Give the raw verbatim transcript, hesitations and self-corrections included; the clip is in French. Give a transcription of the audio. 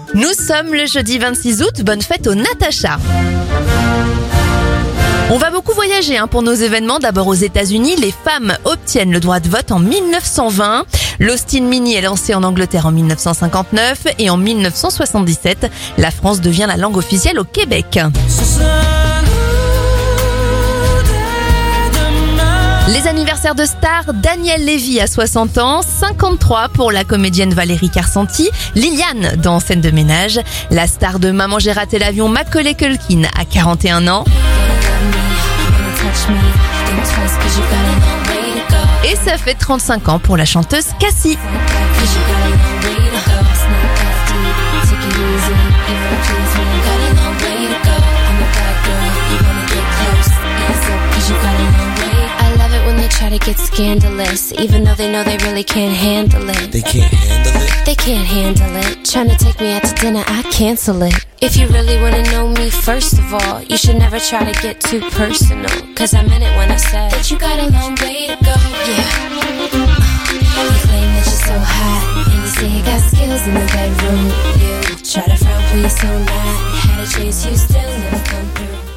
Nous sommes le jeudi vingt-six août, bonne fête aux Natacha. On va beaucoup voyager hein, pour nos événements. D'abord aux États-Unis, les femmes obtiennent le droit de vote en dix-neuf cent vingt. L'Austin Mini est lancé en Angleterre en dix-neuf cent cinquante-neuf et en dix-neuf cent soixante-dix-sept, la France devient la langue officielle au Québec. Les anniversaires de stars, Daniel Lévy à soixante ans, cinquante-trois pour la comédienne Valérie Carcenti, Liliane dans Scène de ménage, la star de Maman j'ai raté l'avion Macaulay Culkin à quarante et un ans. Et ça fait trente-cinq ans pour la chanteuse Cassie. Try to get scandalous, even though they know they really can't handle it. They can't handle it? They can't handle it. Trying to take me out to dinner, I cancel it. If you really want to know me, first of all, you should never try to get too personal. Cause I meant it when I said that you got a long way to go. Yeah. Uh, you claim that you're so hot, and you say you got skills in the bedroom. You try to front, please so not. Had to chase you, still never come through.